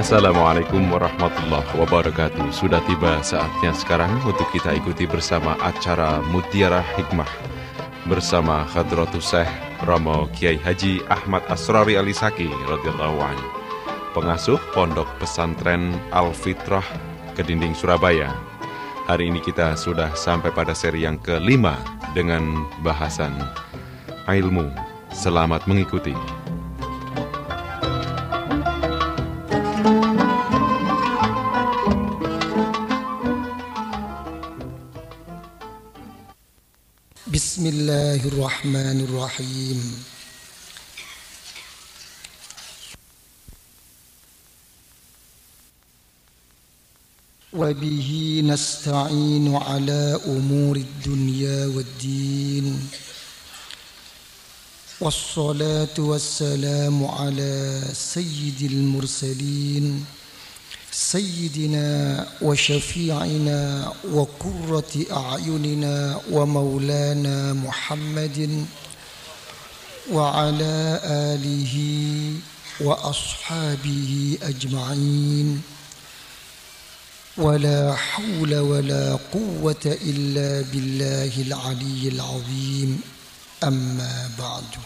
Assalamualaikum warahmatullahi wabarakatuh. Sudah tiba saatnya sekarang untuk kita ikuti bersama acara Mutiara Hikmah bersama Hadratus Syekh Romo Kiai Haji Ahmad Asrori Alisaki radhiyallahu anhu, pengasuh Pondok Pesantren Al-Fitrah Kedinding Surabaya. Hari ini kita sudah sampai pada seri yang kelima dengan bahasan ilmu. Selamat mengikuti. Bismillahirrahmanirrahim. Wa bihi nasta'inu ala umuri dunya waddin. Wassalatu wassalamu ala sayyidil mursalin Sayyidina wa syafi'ina wa qurrati a'yunina wa maulana Muhammadin wa ala alihi wa ashabihi ajma'in wa la hawla wa la quwwata illa billahil aliyyil azim, amma ba'du.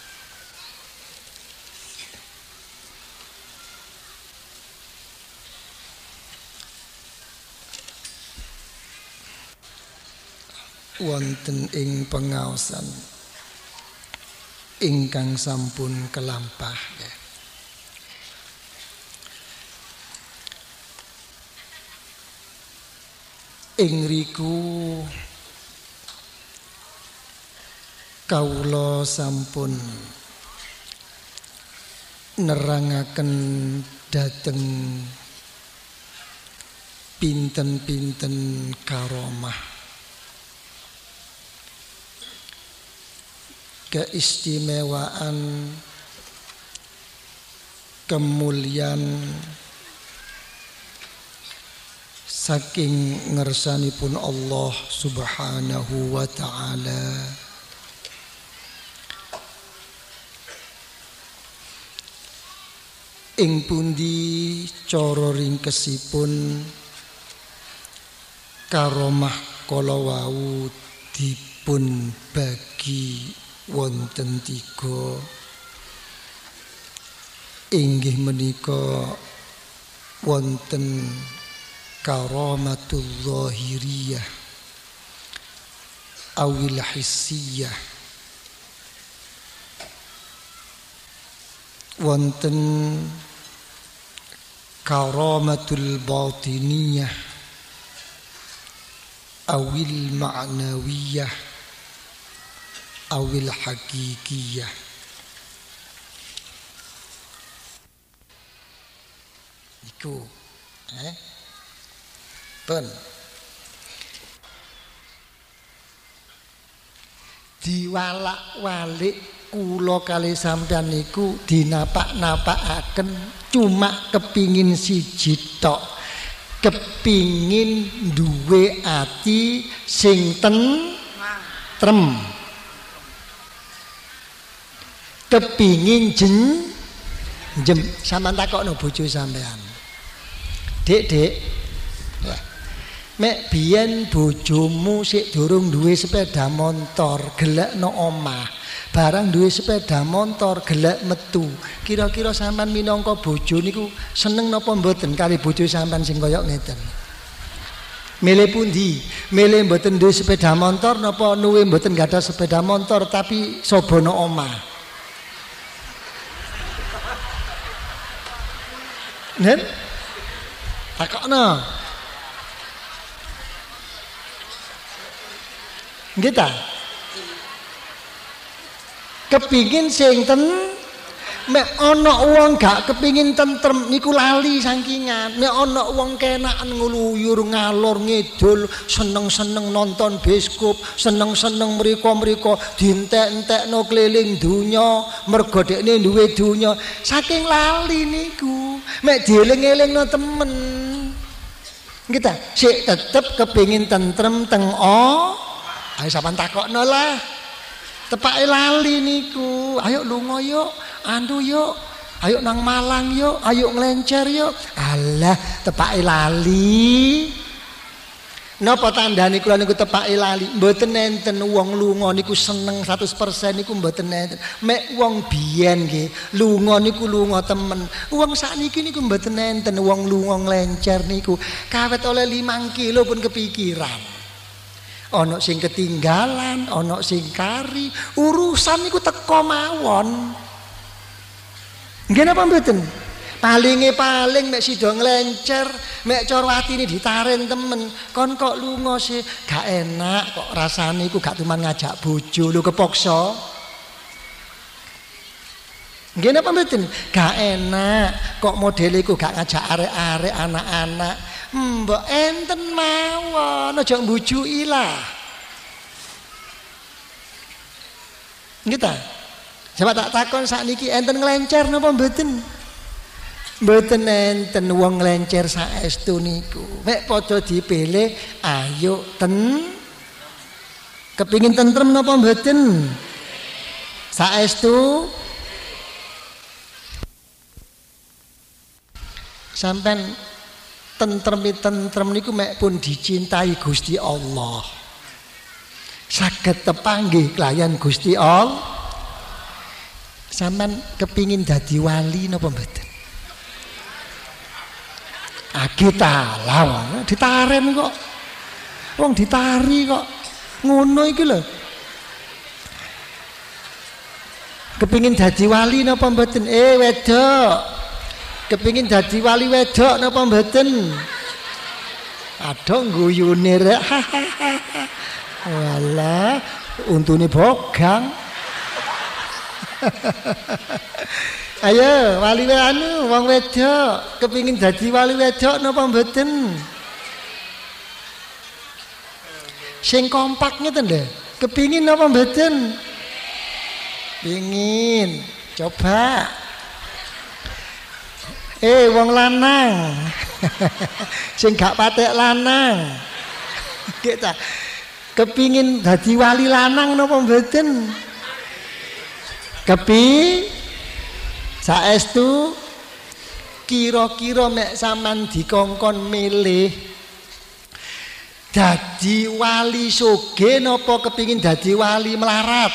Wonten ing pengaosan ingkang sampun kelampah ya. Ing riku kawula sampun nerangaken dhateng pinten-pinten karomah, keistimewaan, kemuliaan saking ngersanipun Allah Subhanahu wa ta'ala. Ing pundi cara ringkesipun karomah kala wau dipun bagi wonten tiga, inggih menika wonten karamatul zahiriyah awil hissiyah, wonten karamatul batiniyah awil ma'nawiyah awil hakikiyah. Iku pun diwalak-walik kula kali sampean niku dinapak-napakaken cuma kepingin siji tok, kepingin duwe ati sing tentrem, kepingin jem sampean takokno bojo sampean, Dek, ya. Mek biyen bojomu sik durung duwe sepeda motor, gelekno omah. Barang duwe sepeda motor, gelek metu. Kira-kira sampean minangka bojo niku seneng napa mboten kali bojo sampean sing kaya ngeten? Milih pundi? Milih mboten duwe sepeda motor napa nuwe mboten gadah sepeda motor tapi sobono omah? Nen? Takokno. Nggih ta? Kepingin sing mek ana wong gak kepingin tentrem niku lali sakingan. Mek ana wong kenaken ngluyur ngalor ngidul, seneng-seneng nonton bioskop, seneng-seneng mriko-mriko dientek-entekno keliling donya mergo dekne duwe donya. Saking lali niku, mek dieling-elingno temen. Nggih ta? Sik tetep kepingin tentrem teng ayo sampean takokno lah. Tepake lali niku. Ayo lunga yuk, andu yuk. Ayo nang Malang yuk, ayo nglencer yuk. Alah, tepake lali. Napa tandane kula niku tepake lali? Mboten enten wong lunga niku seneng 100% niku mboten enten. Mek wong biyen nggih, lunga niku lunga temen. Wong sakniki niku mboten enten wong lunga nglencer niku. Kawet oleh 5 kilo pun kepikiran. Ana sing ketinggalan, ana sing kari, urusan niku teko mawon. Nggih napa mboten? Paling mek sida nglencer, mek cara atine ditaren temen. Kon kok lunga sih, gak enak kok rasane iku gak cuman ngajak bojo lho kepaksa. Nggih napa mboten? Gak enak kok modele iku gak ngajak arek-arek anak-anak. Mbok enten mawon aja mbujuki lah. Nggih ta? Coba tak takon sakniki enten nglencer napa mboten? Mboten enten wong nglencer saestu niku. Mek padha dipilih ayo kepingin tentrem napa mboten? Saestu sampean tentrem niku mek pun dicintai Gusti Allah. Saged tepanggih kelayan Gusti Allah. Sampean kepingin dadi wali napa mboten? Kita lawan ditaren kok. Wong ditari kok. Ngono iki lho. Kepingin dadi wali napa mboten? Wedok. Kepingin dadi wali wedok napa mboten? Aduh guyune rek. Walah, untune bogang. Ayo wali wong wedok kepingin dadi wali wedok napa mboten? Sing kompak ngeten lho. Kepingin napa mboten? Pingin. Coba. Wong lanang. Sing gak patek lanang. Kita kepingin dadi wali lanang napa mboten? Saestu kira-kira mek sampean dikongkon milih dadi wali sugih napa kepingin dadi wali melarat?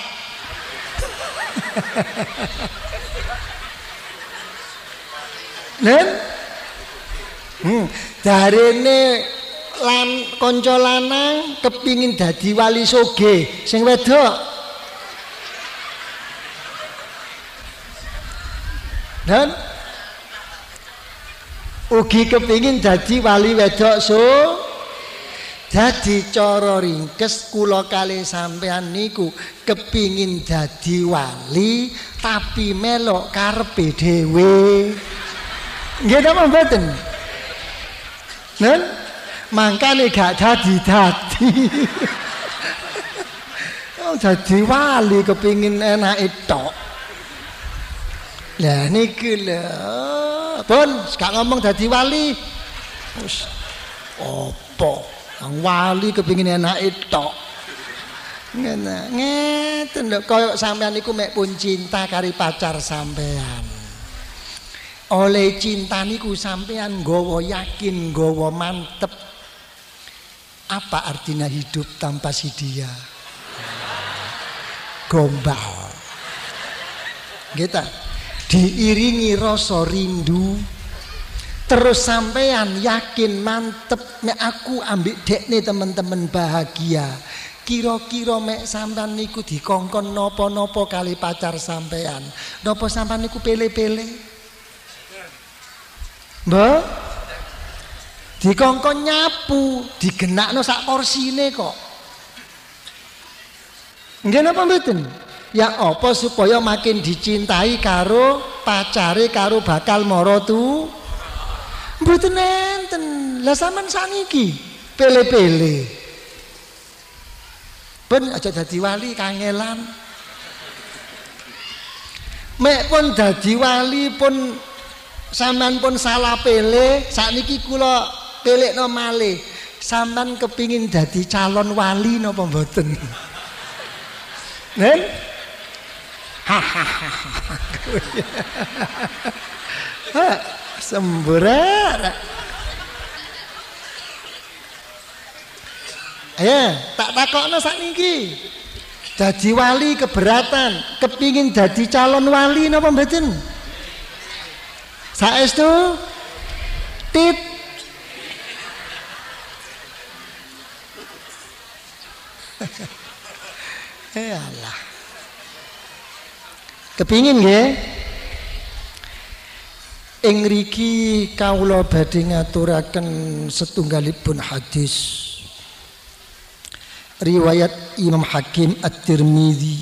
Nen? Darene kanca lanang kepingin dadi wali sugih, sing wedok dan ugi kepingin dadi wali wedok dadi cara ringkes kula kalih sampean niku kepingin dadi wali tapi melok karepe dhewe. Nggih napa mboten? Nen mangkane gak dadi. Oh dadi wali kepingin enake tok. Lah niki lho, pun gak ngomong dadi wali. Wis apa? Wong wali kepengin enake tok. Ngeten lho, kaya sampean niku mek pun cinta kari pacar sampean. Oleh cinta niku sampean nggawa yakin, nggawa mantep. Apa artinya hidup tanpa si dia? Gombal. Gitu. Diiringi rasa rindu terus sampean yakin mantep nek aku ambek dekne teman-teman bahagia. Kira-kira mek sampean niku dikongkon napa-napa kali pacar sampean, napa sampean niku pele-pele? Mbah dikongkon nyapu digenakno sak porsine kok. Nggih napa mboten? Ya apa supaya makin dicintai karo pacare karo bakal mara tu? Mboten enten. Lah sampean saniki pele-pele. Ben aja dadi wali kangelan. Mek pun dadi wali pun sampean pun salah pele, sakniki kula pelekno malih. Sampean kepingin dadi calon wali napa mboten? Nen? Semburat. Ya, tak takokno sakniki. Dadi wali keberatan, kepingin dadi calon wali napa mboten? Saestu tit. Allah. Kepingin nggih? Ing mriki kawula badhe ngaturaken setunggalipun hadis. Riwayat Imam Hakim At-Tirmidzi,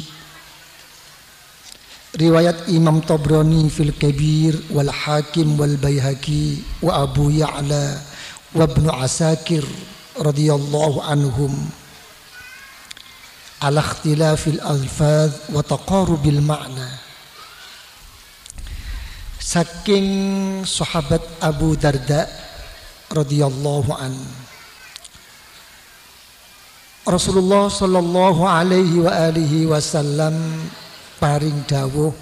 riwayat Imam Tabrani fil Kabir wal Hakim wal Baihaqi wa Abu Ya'la wa Ibnu Asakir radhiyallahu anhum ala ikhtilafil alfaz wa taqarubil ma'na. Saking sahabat Abu Darda radhiyallahu anhu, Rasulullah sallallahu alaihi wa alihi wasallam paring dawuh,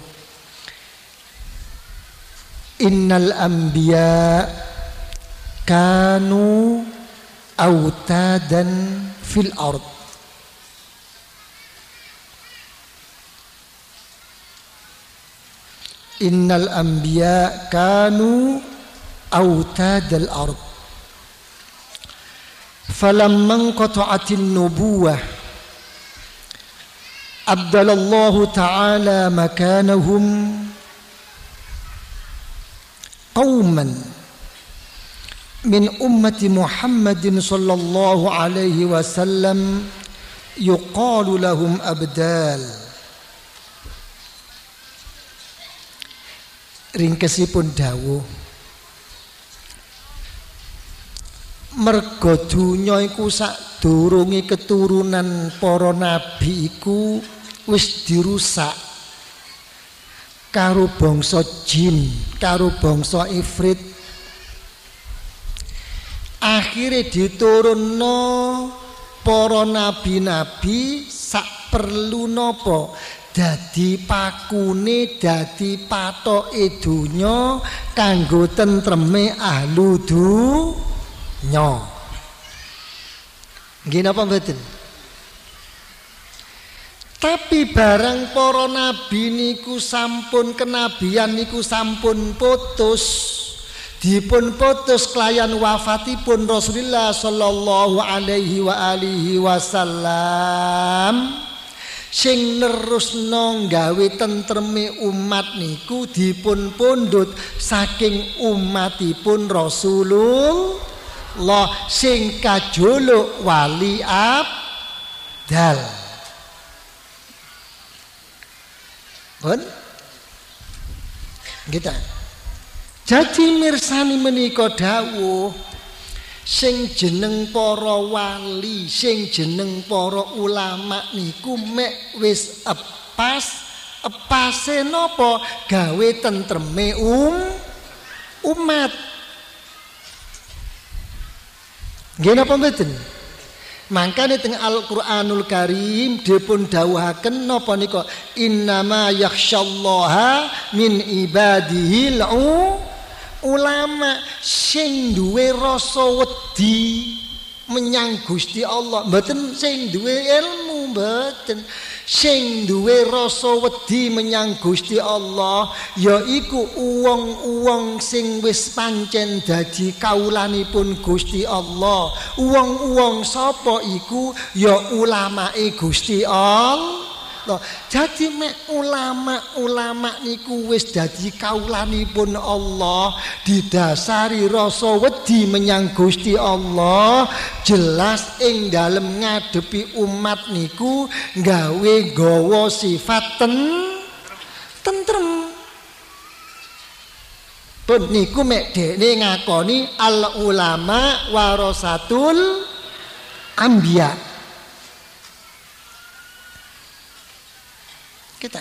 innal anbiya kanu autadan fil ard. Innal anbiya kanu autadal ard. Falamman qata'atin nubuwah abdalallahu ta'ala makanahum qauman min ummati Muhammadin sallallahu alaihi wasallam yuqalu lahum abdal. Ringkesipun dawuh, mergo donya iku sadurunge keturunan para nabi iku wis dirusak karo bangsa jin, karo bangsa ifrit. Akhire diturunno para nabi-nabi sak perlu napa? Dadi pakune, dadi patoke donya kanggo tentreme ahlu dunya. Nggih napa mboten? Tapi barang para nabi niku sampun kenabian niku sampun putus, dipun putus kelayan wafatipun Rasulullah sallallahu alaihi wa alihi wasallam. Sing nerusno gawe tentreme umat niku dipun pundhut saking umatipun Rasulullah sing kajuluk wali abdal. Pun kita jadi mirsani menika dawuh sing jeneng para wali, sing jeneng para ulama niku mek wis epase napa gawe tentreme umat. Nggih napa mboten? Mangkane teng Al-Qur'anul Karim dipun dawuhaken napa nika innama yakhsyallaha min ibadihil ulama sing duwe rasa wedi menyang Gusti Allah, mboten sing duwe ilmu, mboten sing duwe rasa wedi menyang Gusti Allah yaiku wong-wong sing wis pancen dadi kawulanipun Gusti Allah. Wong-wong sapa iku? Ya ulamae Gusti Allah. Jadi mek ulama-ulama niku wis dadi kawulanipun Allah, didasari rasa wedi menyang Gusti Allah, jelas ing dalem ngadepi umat niku gawa sifat tentrem. Pun niku mek dekne ngakoni al ulama warasatul anbiya. Kita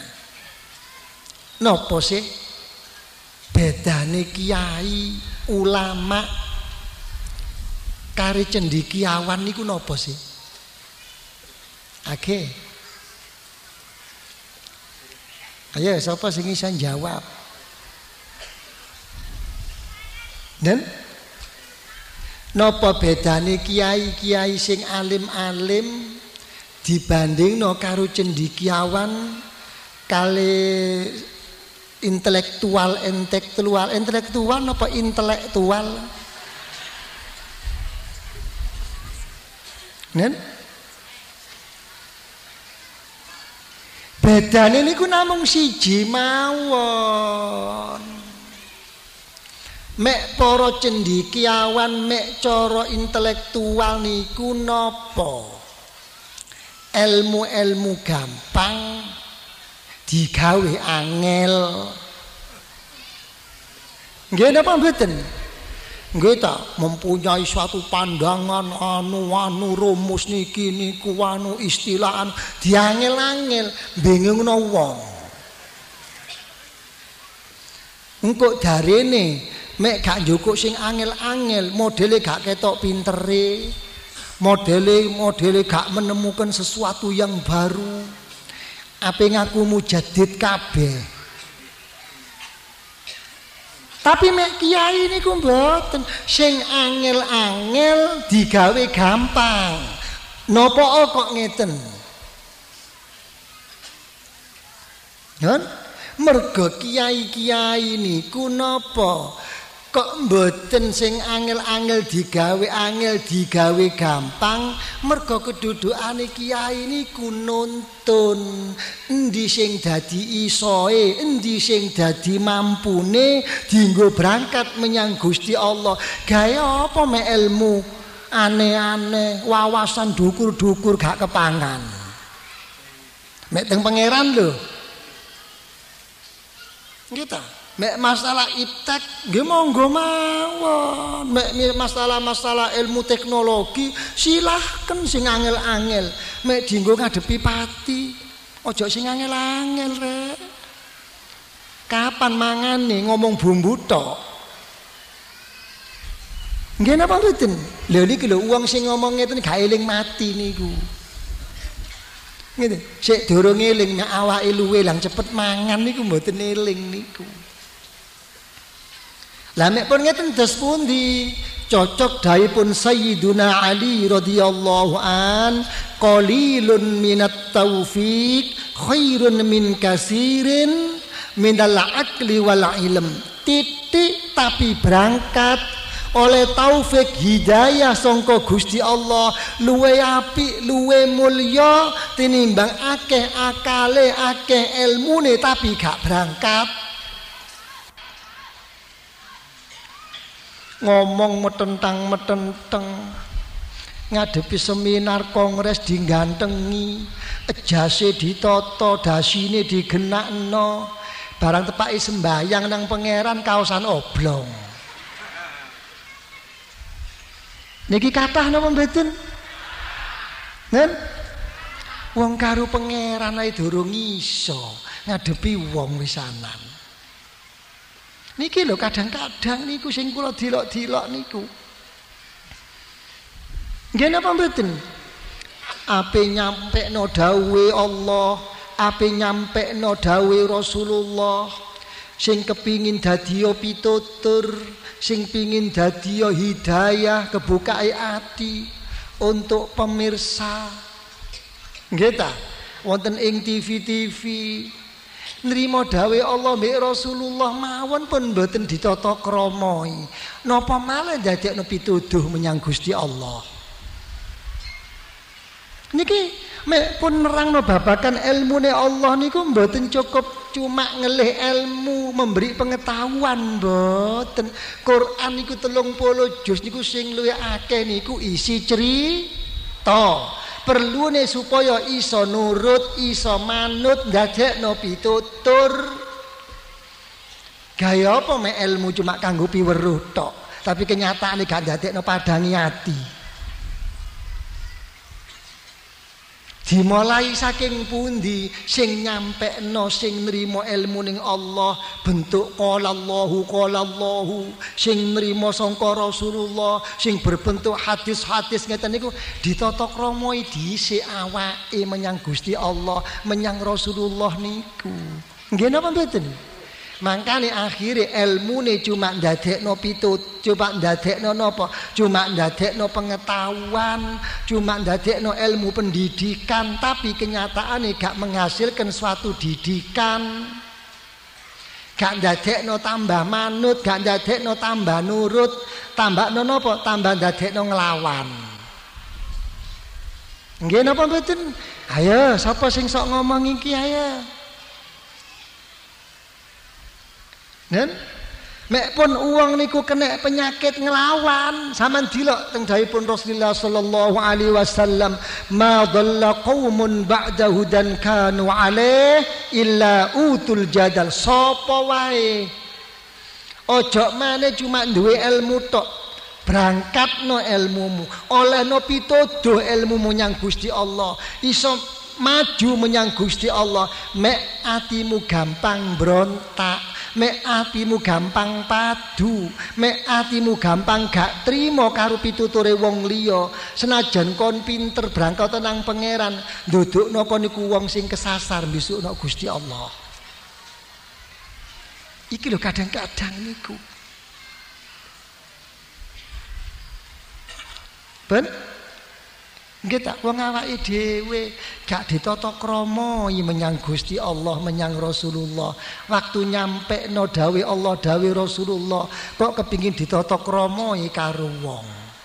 nopo sih bedane kiai ulama kari cendekiawan niku nopo sih? Ayo sapa sing iso jawab? Dan napa bedane kiai-kiai sing alim-alim dibandingno karo cendekiawan kali intelektual napa intelektual? Nen? Bedane niku namung siji mawon. Mek para cendekiawan mek cara intelektual niku napa? Ilmu-ilmu gampang digawe angel. Nggih napa mboten? Nggih ta, mempunyai suatu pandangan anu rumus niki niku istilahan diangel-angel bingungno wong. Engko darene mek gak njukuk sing angel-angel, modele gak ketok pintere, modele gak menemukan sesuatu yang baru. Ape ngaku mujaddid kabeh. Tapi mek kiai niku mboten, sing angel-angel digawe gampang. Napa kok ngeten? Kan? Mergo kiai-kiai niku napa? Kok mboten sing angel-angel digawe gampang? Mergo kedudukane kiai niku nuntun endi sing dadi isoe, endi sing dadi mampune dienggo berangkat menyang Gusti Allah. Gawe apa mek ilmu aneh-aneh, wawasan dukur-dukur gak kepangan. Mek teng pangeran lho. Gitu. Mek masalah iptek nggih monggo mawon. Mek masalah ilmu teknologi silahkan sing angel-angel. Mek dienggo ngadepi pati. Ojo sing angel-angel rek. Kapan mangane ngomong bumbu tok? Nggih napa mboten? Lha niki lho wong sing ngomong ngeten gak eling mati niku. Ngene, sik durung eling nek awake luwe lang cepet mangan niku mboten eling niku. Lah nek pun ngeten dos pundi cocok daipun Sayyiduna Ali radhiyallahu an qalilun minat taufiq khairun min kasirin minal aqli wal ilm. Titik tapi berangkat oleh taufik hidayah sangka Gusti Allah luwe apik luwe mulya tinimbang akeh akale akeh ilmune tapi gak berangkat. Ngomong metentang ngadepi seminar kongres digantengi, ejase ditata, dasine digenakno, barang tepaki sembayang nang pangeran kaosan oblong. Niki kathah napa mboten? Nen? Wong karo pangeran ae durung iso ngadepi wong wisanan. Niki lho kadang-kadang niku sing kula dilok-dilok niku. Nggih napa mboten? Ape nyampekno dawuhe Allah, ape nyampekno dawuhe Rasulullah, sing kepingin dadiya pitutur, sing pingin dadiya hidayah, kebukae ati untuk pemirsa. Nggih ta? Wonten ing TV-TV nrimo dawuhe Allah mbek Rasulullah mawon pun mboten ditata kramai. Napa malah dadekno pituduh menyang Gusti Allah. Niki mek pun nerangno babagan ilmune Allah niku mboten cukup cuma ngelih ilmu, memberi pengetahuan mboten. Quran niku 30 juz niku sing luwih akeh niku isi cerita. Perlune supaya iso nurut, iso manut, ndadekno pitutur. Gaya apa mek ilmu cuma kanggo piweruh tok, tapi kenyataane gak ndadekno padangi ati. Dimulai saking pundi sing nyampekno sing nrimo ilmu ning Allah bentuk qala Allahu sing nrimo sangka Rasulullah sing berbentuk hadis-hadis ngeten niku ditata krama dhisik awake menyang Gusti Allah menyang Rasulullah niku. Nggih napa mboten? Mangkane akhire ilmune cuma ndadekno cuma ndadekno napa? Cuma ndadekno pengetahuan, cuma ndadekno ilmu pendidikan, tapi kenyataane gak menghasilkan suatu didikan. Gak ndadekno tambah manut, gak ndadekno tambah nurut, tambahno napa? Tambah ndadekno nglawan. Nggih napa mboten? Ayo, sapa sing sok ngomong iki ayo. Nen, mek pun uang niku kena penyakit ngelawan, sampean dilok teng dawuhipun Rasulullah sallallahu alaihi wasallam, ma dhalla qaumun ba'da hudan kanu alaih illa utul jadal. Sapa wae ojo maneh cuma duwe ilmu tok, berangkatno ilmumu, olehno pituduh ilmumu nyang Gusti Allah, iso maju menyang Gusti Allah. Mek atimu gampang berontak, mek atimu gampang padu, mek atimu gampang gak trimo karo pituture wong liya, senajan kon pinter berangkat nang pangeran, ndudukno kon niku wong sing kesasar besukno Gusti Allah. Iki lho kadang-kadang niku. Ben nggih tak wong awake dhewe gak ditata krama menyang Gusti Allah, menyang Rasulullah. Waktu nyampe no dawuh Allah, dawuh Rasulullah, kok kepingin ditata krama karo wong.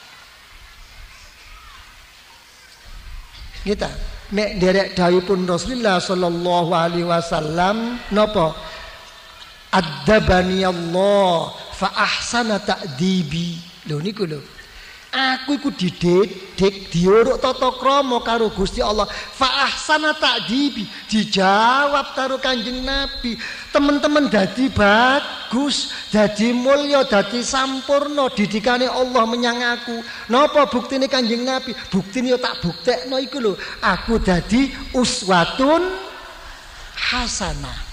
Nggih ta? Nek derek dawuhipun Rasulullah sallallahu alaihi wasallam napa? Adzabani Allah fa ahsana ta'dibi. Lho niku lho. Aku iku dididik, diuruk tata krama karo Gusti Allah. Fa ahsana ta'dibi, dijawab karo Kanjeng Nabi. Teman-teman dadi bagus, dadi mulya, dadi sampurna didikane Allah menyang aku. Napa buktine Kanjeng Nabi? Buktine yo tak buktekno iku lho. Aku dadi uswatun hasanah.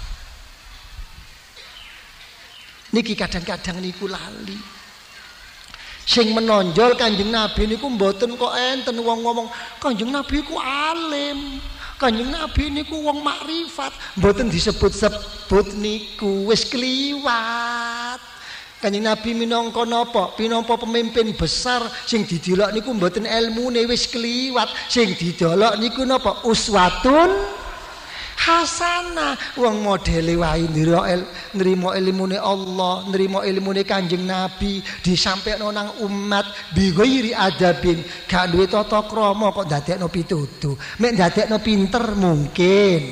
Niki kadang-kadang niku lali. Sing menonjol Kanjeng Nabi niku mboten kok enten wong ngomong Kanjeng Nabi ku alim, Kanjeng Nabi niku wong makrifat, mboten disebut-sebut niku, wis kliwat. Kanjeng Nabi minangka napa? Minangka pemimpin besar sing didelok niku mboten ilmune wis kliwat, sing didelok niku napa? Uswatun hasanah. Wong modele wae nrimo ilmune Allah, nrimo ilmune Kanjeng Nabi, disampaikan nang umat bi ghairi adabin, gak duwe tata krama kok ndadekno pituduh. Mek ndadekno pinter mungkin.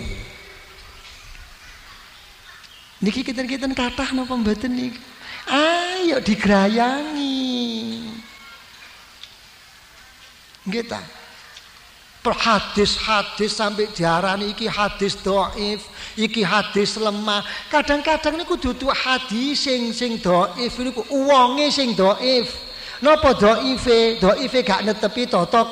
Niki kinten-kinten kathah napa mboten niki? Ayo digrayangi. Nggih ta? Hadis-hadis sampai diarani iki hadis dhaif, iki hadis lemah. Kadang-kadang niku dudu hadis sing dhaif niku wonge sing dhaif. Napa dhaife? Dhaife gak netepi tata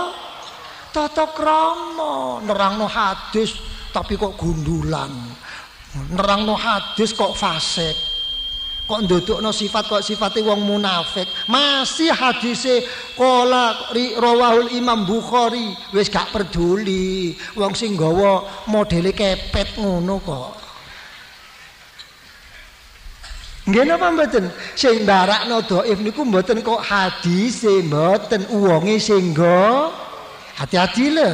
krama. Nerangno hadis tapi kok gundulan. Nerangno hadis kok fasik. Kok ndudukno sifat kok sifate wong munafik. Masih hadise qala rawahul Imam Bukhari, wis gak peduli. Wong sing nggawa modele kepet ngono kok. Nggih napa mboten? Sing ndarakno dhaif niku mboten kok hadise, mboten wonge sing nggo. Hati-hati lho.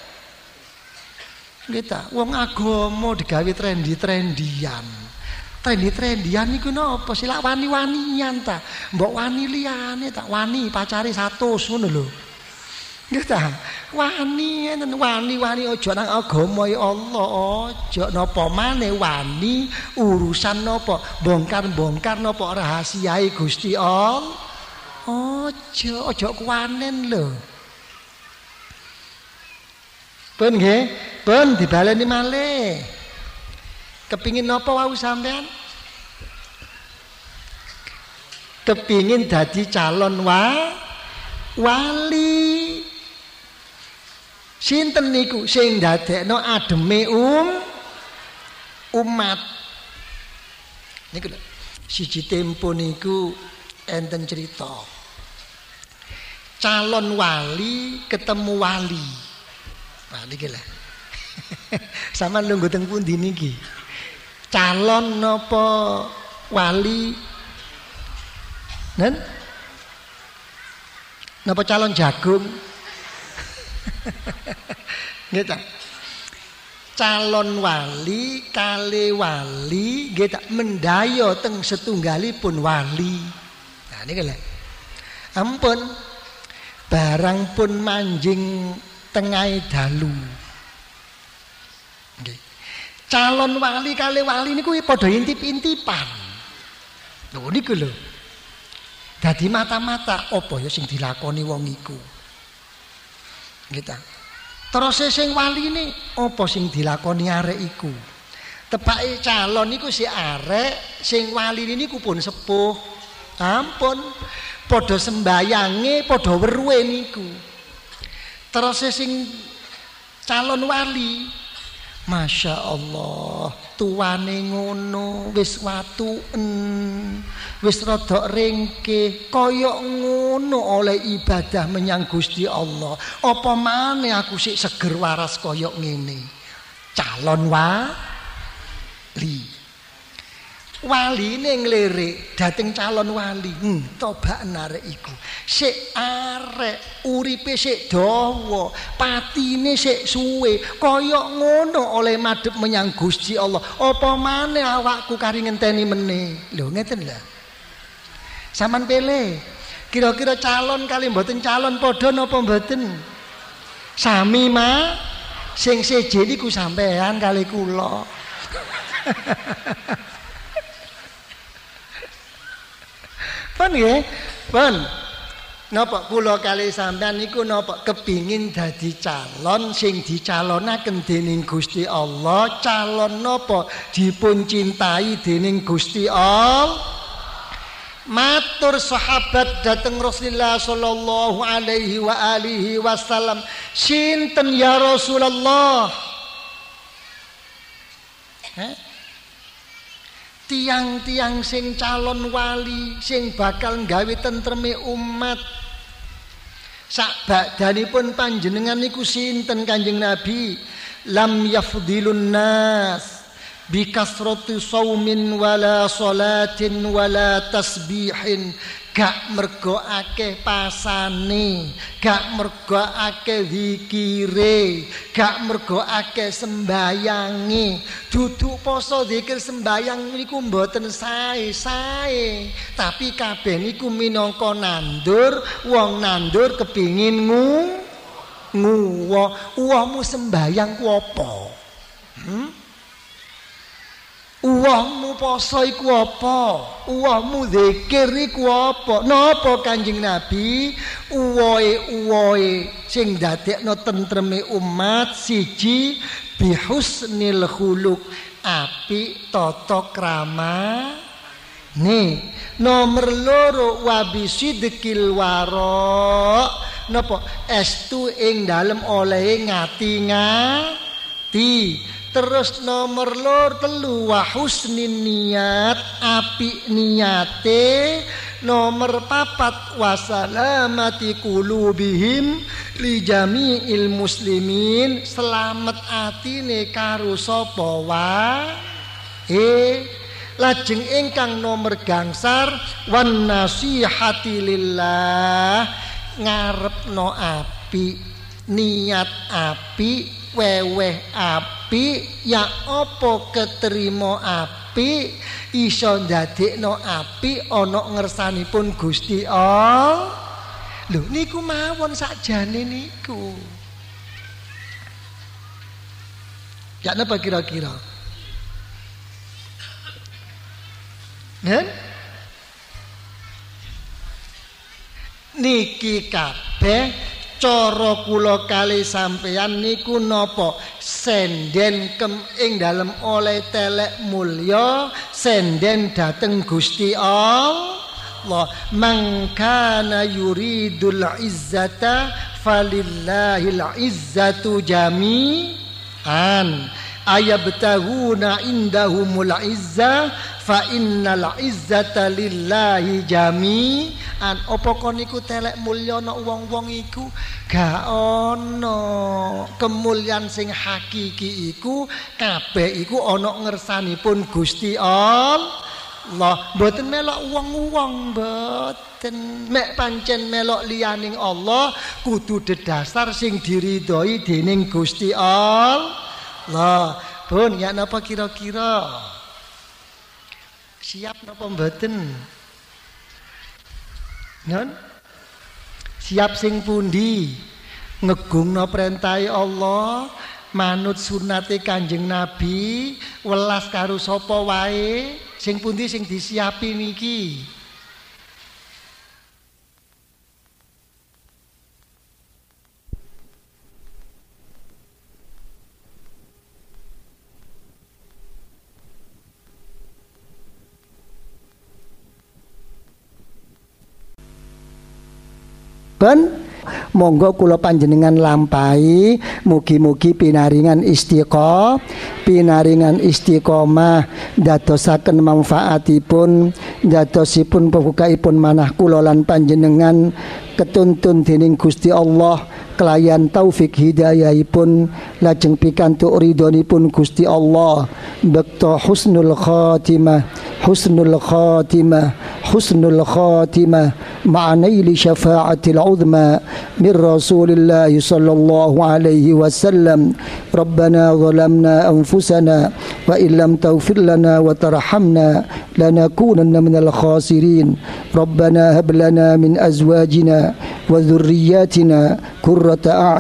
Nggih ta, wong agama digawe trendi-trendian. Trendi-trendian niku napa sih? Lak wani-wanian ta. Mbok wani liyane tak wani pacare 100 ngono lho. Nggih ta? Wani enten wani-wani aja nang agama ya Allah, aja napa maneh wani urusan napa bongkar-bongkar napa rahasiae Gusti Allah. Aja kuwanen lho. Pun nggih, pun dibaleni malih. Kepingin napa wau sampean? Kepingin dadi calon wali. Sinten niku sing ndadekno ademe umat. Niku lho. Siji tempo niku enten cerita. Calon wali ketemu wali. Nah niki lho. Sampeyan lungguh teng pundi niki? calon napa wali? Nen? Napa calon jagung? Nggih ta? Calon wali kali wali nggih ta mendaya teng setunggalipun wali. Nah niki lho. Ampun barang pun manjing tengahé dalu. Nggih. Calon wali kali wali niku padha intip-intipan. Lho niku lho. Dadi mata-mata apa ya sing dilakoni wong iku. Nggih ta. Terus sing waline apa sing dilakoni arek iku? Tepake calon niku si arek, sing wali niku pun sepuh. Ampun, padha sembayange, padha weruhe niku. Terus sing calon wali, Masya Allah, tuane ngono, wis watuen, wis rada ringkih, kaya ngono oleh ibadah menyang Gusti Allah. Apa maneh aku sik seger waras kaya ngene. Calon wali. Waline nglirik dhateng calon wali. Tobaken arek iku. Sik arek uripe sik dawa, patine sik suwe, kaya ngono oleh madhep menyang Gusti Allah. Apa maneh awakku kari ngenteni meneh. Lho ngeten lho. Saman pilih. Kira-kira calon kali mboten calon padha napa mboten? Sami mah sing seje niku sampean kali kula. Pun nggih, pun. Napa kula kali sampean niku napa kepingin dadi calon sing dicalonaken dening Gusti Allah, calon napa dipun cintai dening Gusti Allah. Matur sahabat dateng Rasulullah sallallahu alaihi wa alihi wasallam, sinten ya Rasulullah? Tiang-tiang sing calon wali sing bakal nggawe tentreme umat sakbadanipun panjenengan niku sinten Kanjeng Nabi? Lam yafdilun nas bikasrati saumin wala salatin wala tasbihin, gak mergo akeh pasane, gak mergo akeh zikire, gak mergo akeh sembayange. Duduk poso zikir sembayang niku mboten sae-sae, tapi kabeh niku minangka nandur. Wong nandur kepingin uwahmu sembayang ku apa? Uwahmu poso iku apa? Uwahmu zikir iku apa? Napa Kanjeng Nabi? Uwohe sing dadekno tentreme umat siji bihusnil khuluq, apik tata krama. Nih, nomor loro wabisidqil wara. Napa? Estu ing dalem olehe ngati-ngati. Terus nomor telu wa husnin niat, apik niate. Nomor papat wasalamati qulubihim li jami'il muslimin, selamat atine karo sapa wae. Lajeng ingkang nomor gangsar wan nasihati lillah, ngarepno apik, niat apik, weweh apik, ya apa keterima apik, iso ndadekno apik ana ngersanipun Gusti Allah. Lho niku mawon sakjane niku. Ya napa kira-kira? Nen? Niki kabeh cara kula kali sampeyan niku napa? Senden ing dalem oleh telek mulya, senden dateng Gusti Allah. Man kana yuridul izzata falillahil izzatu jami'an ayabtahuna indahumul izzah fa innal izzata lillahi jami'an. kemuliaan. Apa kon iku telek mulya ana wong-wong iku? Gak ana. Kemuliaan sing hakiki iku kabeh iku ana ngersanipun Gusti Allah. Mboten melok wong-wong, mboten. Mek pancen melok liyaning Allah kudu dedasar sing diridhoi dening Gusti Allah. Pun ya napa kira-kira? Siap napa mboten? Non? Siap sing pundi? Ngegungna perintahe Allah, manut sunate Kanjeng Nabi, welas karo sapa wae, sing pundi sing disiapi niki? Monggo kula panjenengan lampahi, mugi-mugi pinaringan istiqomah dadosaken manfaatipun, dadosipun pembukaipun manah kula lan panjenengan ketuntun dening Gusti Allah kelayan taufik hidayahipun lajeng pikantuk ridhonipun Gusti Allah bekto husnul khatimah ma'anaili syafa'atil uzma min Rasulillah sallallahu alaihi wasallam. Rabbana zalamna anfusana wa illam taghfir lana wa tarhamna lanakunanna minal khasirin. Rabbana hab lana min azwajina wa dhurriyyatina qurrata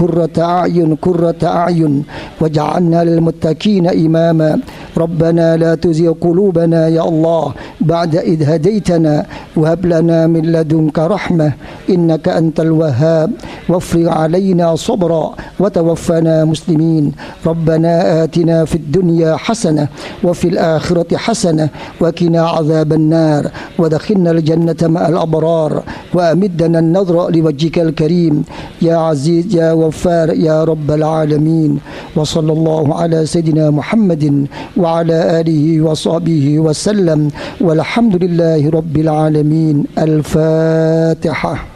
a'yun waj'alna lil muttaqina imama. Rabbana la tuzigh qulubana ya Allah ba'da idh hadaitana wa hab lana min ladunka rahmah innaka antal wahhab wafrig 'alaina sabra wa tawaffana muslimin. Rabbana atina fid dunya hasanah wa fil akhirati hasanah wa qina 'adzaban nar wa adkhilna al jannata ma'al abrar wa amiddana an-nadhra liwajhikal karim ya aziz ya ghaffar ya rabbal alamin. Wa sallallahu ala sayidina Muhammadin wa ala alihi wa sahbihi wa sallam walhamdulillahi rabbil alamin. Al-Fatihah.